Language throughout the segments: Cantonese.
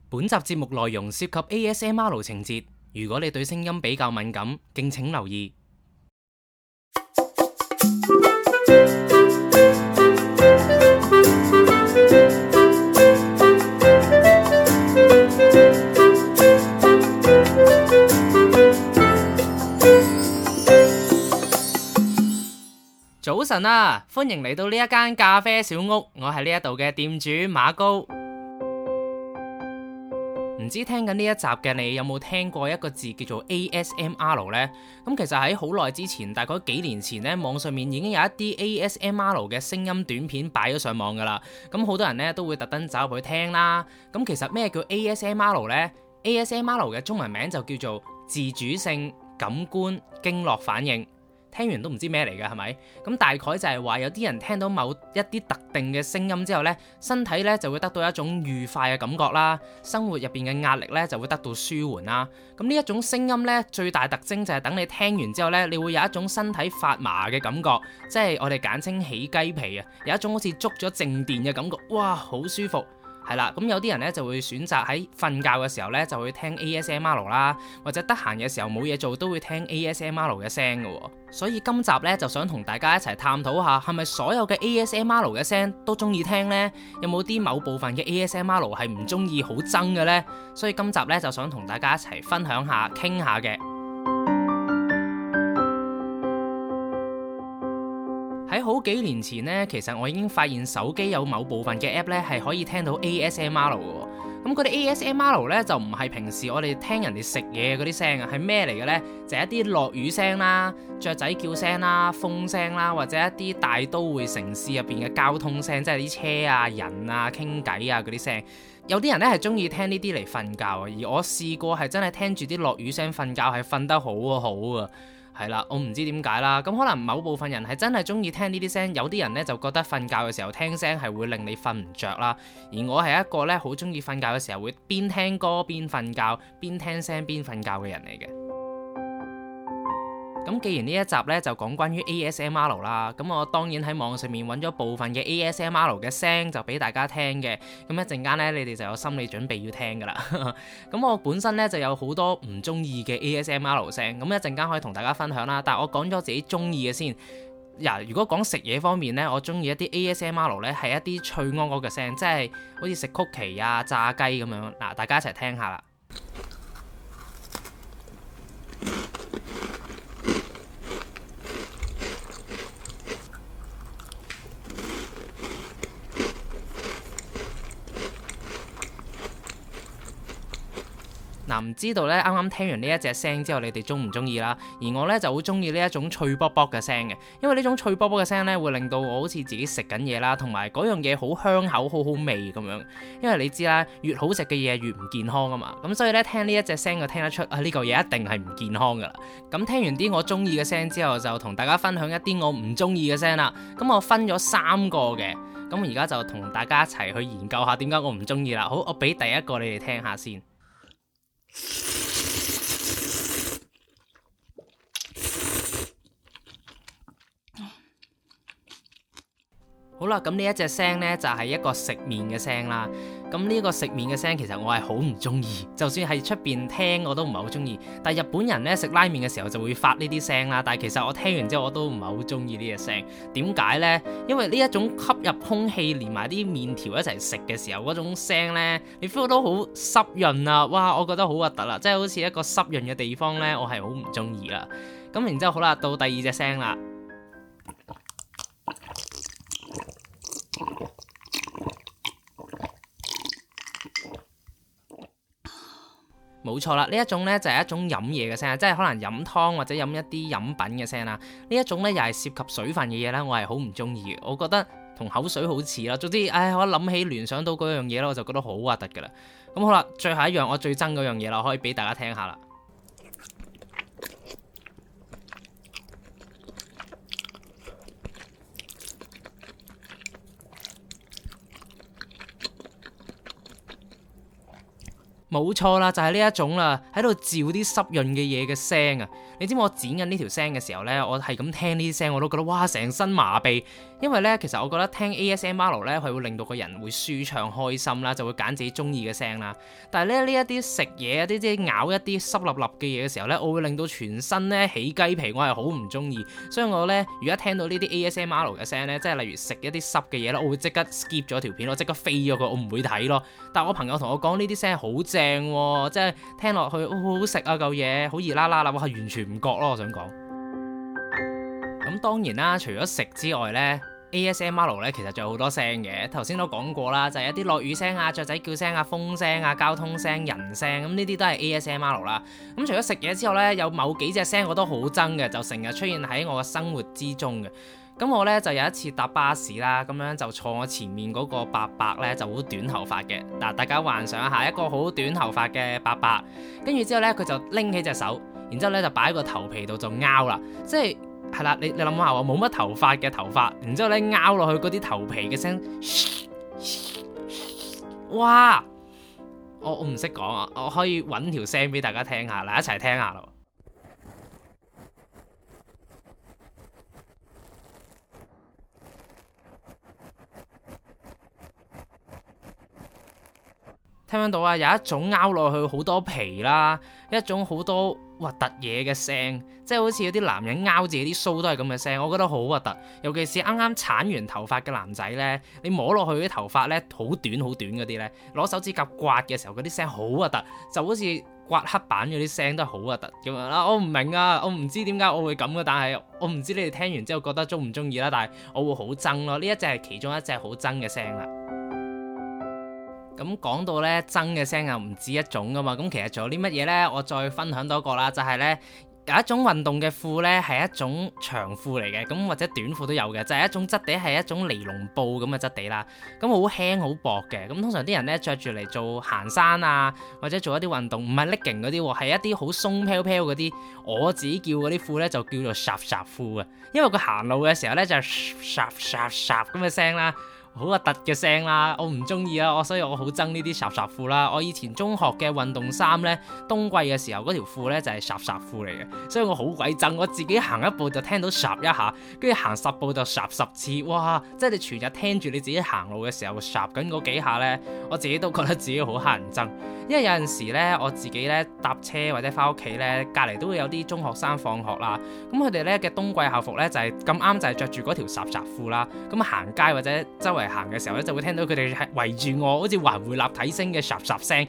本集節目內容涉及 ASMR 情節，如果你對聲音比較敏感，敬請留意。早晨啊，歡迎嚟到呢一間咖啡小屋，我係呢一度嘅店主馬高。唔知聽緊呢一集嘅你有冇聽過一個字叫做 ASMR 呢？咁其實喺好耐之前，大概幾年前呢，網上面已經有一啲 ASMR 嘅聲音短片擺咗上網噶啦。咁好多人呢都會特登走入去聽啦。咁其實咩叫 ASMR 呢？ ASMR 嘅中文名就叫做自主性感官經絡反應。聽完都唔知咩嚟嘅係咪？咁大概就係話有啲人聽到某一啲特定嘅聲音之後呢，身體呢就會得到一種愉快嘅感覺啦，生活入邊嘅壓力呢就會得到舒緩啦。咁呢一種聲音呢，最大特徵就係等你聽完之後呢，你會有一種身體發麻嘅感覺，即係我哋簡稱起雞皮啊，有一種好似捉咗靜電嘅感覺，哇，好舒服。係啦，咁有啲人咧就會選擇喺瞓覺嘅時候咧就會聽 ASMR 啦，或者得閒嘅時候冇嘢做都會聽 ASMR 嘅聲嘅。所以今集咧就想同大家一齊探討下，係咪所有嘅 ASMR 嘅聲都中意聽呢？有冇啲某部分嘅 ASMR 係唔中意好憎嘅呢？所以今集咧就想同大家一齊分享下、傾下嘅。喺好幾年前呢，其實我已經發現手機有某部分嘅 app 咧係可以聽到 ASMR 嘅。咁嗰啲 ASMR 咧就唔係平時我哋聽人哋食嘢嗰啲聲啊，係咩嚟嘅呢？就係一啲落雨聲啦、雀仔叫聲啦、風聲啦，或者一啲大都會城市入邊嘅交通聲，即係啲車啊、人啊、傾偈啊嗰啲聲。有啲人咧係中意聽呢啲嚟瞓覺啊，而我試過係真係聽住啲落雨聲瞓覺，係瞓得好啊。係啦，我唔知點解啦，咁可能某部分人係真係中意聽呢啲聲，有啲人呢就覺得瞓覺嘅時候聽聲係會令你瞓唔着啦，而我係一個呢好中意瞓覺嘅時候會邊聽歌邊瞓覺，邊聽聲邊瞓覺嘅人嚟嘅。咁既然呢一集呢就講關於 ASMR 啦，咁我當然喺網上面揾咗部分嘅 ASMR 嘅聲就俾大家聽嘅，咁一陣間呢，你哋就有心理準備要聽噶啦。咁我本身呢就有好多唔中意嘅 ASMR 聲，咁一陣間可以同大家分享啦。但係我講咗自己中意嘅先。如果講食嘢方面呢，我中意一啲 ASMR 呢係一啲脆鵝鵝嘅聲，即係好似食曲奇啊、炸雞咁樣。嗱，大家一齊聽下啦。唔知道咧，啱啱聽完呢一隻聲之後，你哋中唔中意啦？而我咧就好中意呢一種脆卜卜嘅聲嘅，因為呢種脆卜卜嘅聲咧會令到我好似自己食緊嘢啦，同埋嗰樣嘢好香口、好好味咁樣。因為你知啦，越好食嘅嘢越唔健康啊嘛，咁所以咧聽呢一隻聲就聽得出啊，呢嚿嘢一定係唔健康噶啦。咁聽完啲我中意嘅聲之後，就同大家分享一啲我唔中意嘅聲啦。咁我分咗3個嘅，咁而家就同大家一齊去研究下點解我唔中意啦。好，我俾第一個你哋聽下先。好啦，咁呢一隻聲呢，就係一個食麵嘅聲啦。咁呢個食麵嘅聲其實我係好唔中意，就算係出邊聽我都唔係好中意。但係日本人呢，食拉麵嘅時候就會發呢啲聲啦。但係其實我聽完之後我都唔係好中意呢隻聲。點解呢？因為呢一種吸入空氣連埋啲麵條一齊食嘅時候嗰種聲呢，你 feel 到好濕潤啊！哇，我覺得好核突啦，即係好似一個濕潤嘅地方呢，我係好唔中意啦。咁然之後好啦，到第二隻聲啦。冇錯啦，呢一種呢就係一種飲嘢嘅聲，即係可能飲湯或者飲一啲飲品嘅聲啦。呢一種呢又係涉及水分嘅嘢呢，我係好唔中意嘅。我覺得同口水好似啦。總之，我一諗起聯想到嗰樣嘢咧，我就覺得好核突噶啦。咁好啦，最後一樣我最憎嗰樣嘢啦，可以俾大家聽下啦。 冇錯啦，就係呢一種啦，喺度嚼啲濕潤嘅嘢嘅聲啊！你知唔知我剪緊呢條聲嘅時候呢，我係咁聽呢啲聲，我都覺得哇，成身麻痹。因為呢，其實我覺得聽 ASMR 呢，係會令到個人會舒暢開心啦，就會揀自己中意嘅聲啦。但係咧呢一啲食嘢啊，啲即係咬一啲濕立立嘅嘢嘅時候呢，我會令到全身呢起雞皮，我係好唔中意。所以我呢，如果聽到呢啲 ASMR 嘅聲呢，即係例如食一啲濕嘅嘢呢，我會即刻 skip 咗條片，我即刻飛咗佢，我唔會睇咯。但係我朋友同我講呢啲聲好正喎，即係聽落去好好食啊嚿嘢，好熱辣辣啦，我係完全唔覺咯。我想講，咁當然啦，除咗食之外呢。ASMR 咧其實仲有好多聲嘅，頭先都講過啦，就係一啲落雨聲啊、雀仔叫聲啊、風聲啊、交通聲、人聲，咁呢啲都係 ASMR 啦。咁除咗食嘢之後呢，有某幾隻聲我都好憎嘅，就成日出現喺我嘅生活之中嘅。咁我呢，就有一次搭巴士啦，咁樣就坐我前面嗰個伯伯呢，就好短頭髮嘅。嗱，大家幻想一下一個好短頭髮嘅伯伯，跟住之後呢，佢就拎起隻手，然之後呢就擺喺個頭皮度就拗啦，即係啦，你諗下喎，冇乜頭髮嘅頭髮，然之後咧拗落去嗰啲頭皮嘅聲，哇！我唔識講啊，我可以揾條聲俾大家聽下，嚟一齊聽下咯。聽唔聽到啊？有一種拗落去好多皮啦，一種好多核突嘢嘅聲，即係好似有啲男人拗自己啲鬚都係咁嘅聲，我覺得好核突。尤其是啱啱鏟完頭髮嘅男仔呢，你摸落去啲頭髮呢，好短好短嗰啲呢，攞手指甲刮嘅時候嗰啲聲好核突，就好似刮黑板嗰啲聲都係好核突咁樣啦。我唔明啊，我唔知點解我會咁嘅，但係我唔知你哋聽完之後覺得中唔中意啦，但係我會好憎咯。呢一隻係其中一隻好憎嘅聲啦。咁講到咧憎嘅聲又唔止一種噶嘛，咁其實仲有啲乜嘢呢？我再分享多個啦，就係呢，有一種運動嘅褲呢，係一種長褲嚟嘅，咁或者短褲都有嘅，就係一種質地係一種尼龍布咁嘅質地啦，咁好輕好薄嘅，咁通常啲人呢，着住嚟做行山啊，或者做一啲運動，唔係 legging 嗰啲喎，係一啲好鬆飄飄嗰啲，我自己叫嗰啲褲呢，就叫做霎霎褲啊，因為佢行路嘅時候呢，就係霎霎霎咁嘅聲啦。好核突嘅聲啦，我唔中意啊，所以我好憎呢啲霎霎褲啦。我以前中學嘅運動衫呢，冬季嘅時候嗰條褲呢就係霎霎褲嚟嘅，所以我好鬼憎。我自己行一步就聽到霎一下，跟住行10步就霎10次，哇！即係你全日聽住你自己行路嘅時候霎緊嗰幾下呢，我自己都覺得自己好乞人憎。因為有陣時呢，我自己呢搭車或者翻屋企呢，隔離都會有啲中學生放學啦，咁佢哋呢嘅冬季校服呢，就係咁啱就係着住嗰條霎霎褲啦，咁行街或者周圍行嘅時候咧，就會聽到佢哋係圍住我，好似環迴立體聲嘅霎霎聲。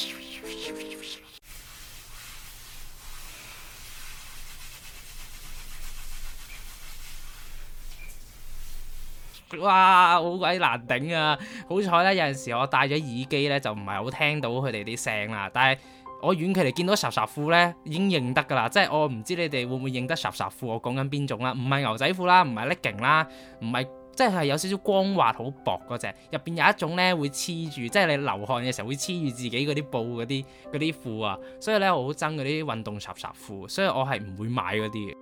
哇，好鬼難頂啊！好彩咧，有陣時我戴咗耳機咧，就唔係好聽到佢哋啲聲啦。但係我遠距離見到霎霎褲咧，已經認得噶啦。即係我唔知你哋會唔會認得霎霎褲？我講緊邊種啦？唔係牛仔褲啦，唔係 legging 啦，唔係。即係有少少光滑好薄嗰隻，入邊有一種咧會黐住，即係你流汗嘅時候會黐住自己嗰啲布嗰啲褲啊，所以咧我好憎嗰啲運動霎霎褲，所以我係唔會買嗰啲嘅。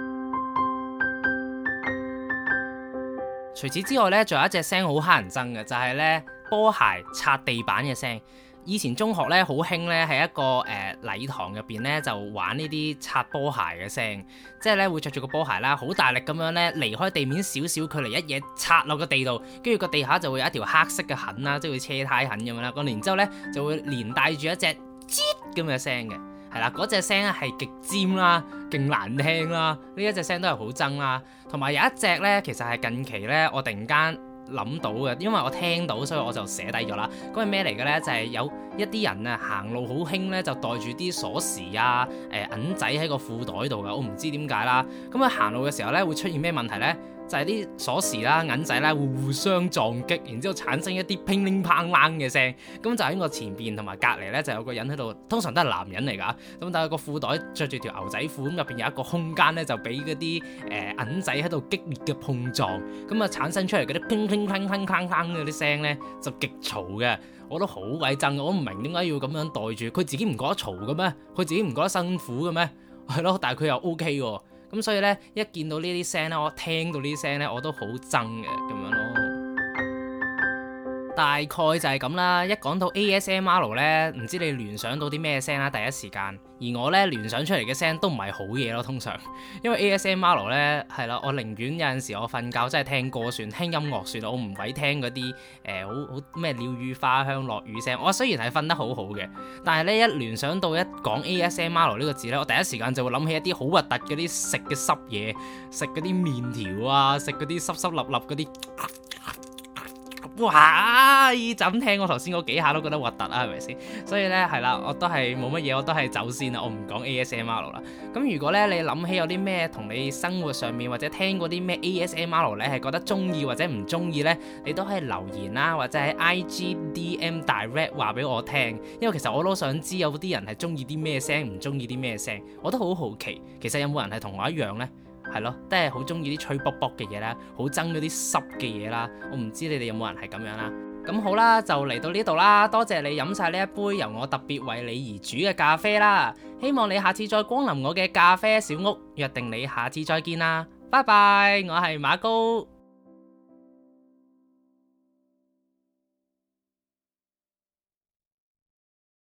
除此之外咧，仲有一隻聲好乞人憎嘅，就係咧波鞋擦地板嘅聲。以前中學咧好興咧，喺一個禮堂入邊咧就玩呢啲擦波鞋嘅聲，即係咧會着住個波鞋啦，好大力咁樣咧離開地面少少距離一嘢擦落個地度，跟住個地下就會有一條黑色嘅痕啦，即係會車胎痕咁樣啦。咁然之後咧就會連帶住一隻吱咁嘅聲嘅，係啦，嗰隻聲係極尖啦，勁難聽啦，呢一隻聲都係好憎啦。同埋有一隻咧，其實係近期咧我突然間諗到嘅，因為我聽到，所以我就寫低咗啦。嗰係咩嚟嘅呢？就係有一啲人啊行路好興呢，就袋住啲鎖匙啊、銀仔喺個褲袋度噶。我唔知點解啦。咁啊行路嘅時候呢，會出現咩問題呢？就係啲鎖匙啦、銀仔啦會互相撞擊，然之後產生一啲乒鈴乓啷嘅聲。咁就喺我前邊同埋隔離呢，就有個人喺度，通常都係男人嚟㗎。咁但係個褲袋着住條牛仔褲，咁入邊有一個空間呢，就俾嗰啲銀仔喺度激烈嘅碰撞，咁啊產生出嚟嗰啲乒乒乓乓乓乓嗰啲聲呢，就極嘈嘅。我都好鬼憎，我唔明點解要咁樣袋住。佢自己唔覺得嘈嘅咩？佢自己唔覺得辛苦嘅咩？係咯，但係佢又 OK 喎。咁所以咧，一見到呢啲聲咧，我聽到呢啲聲咧，我都好憎嘅咁樣咯。 大概就係咁啦。一講到 ASMR 呢，唔知你聯想到啲咩聲啦？第一時間，而我呢聯想出嚟嘅聲都唔係好嘢咯，通常。因為 ASMR 呢係啦，我寧願有陣時我瞓覺真係聽歌算，聽音樂算，我唔鬼聽嗰啲好咩鳥語花香、落雨聲。我雖然係瞓得好好嘅，但係呢一聯想到一講 ASMR 呢個字呢，我第一時間就會諗起一啲好核突嗰啲食嘅濕嘢，食嗰啲麵條啊，食嗰啲濕濕立立嗰啲。哇！就咁聽我頭先嗰幾下都覺得核突啊，係咪先？所以呢，係啦，我都係冇乜嘢，我都係走先啦，我唔講 ASMR 啦。咁如果呢，你諗起有啲咩同你生活上面或者聽過啲咩 ASMR 呢係覺得中意或者唔中意呢，你都可以留言啦，或者喺 IG DM Direct 話俾我聽。因為其實我都想知有啲人係中意啲咩聲，唔中意啲咩聲，我都好好奇。其實有冇人係同我一樣呢？係咯，都係好中意啲吹卜卜嘅嘢啦，好憎嗰啲濕嘅嘢啦。我唔知你哋有冇人係咁樣啦。咁好啦，就嚟到呢度啦。多謝你飲晒呢一杯由我特別為你而煮嘅咖啡啦。希望你下次再光臨我嘅咖啡小屋，約定你下次再見啦。拜拜，我係馬高。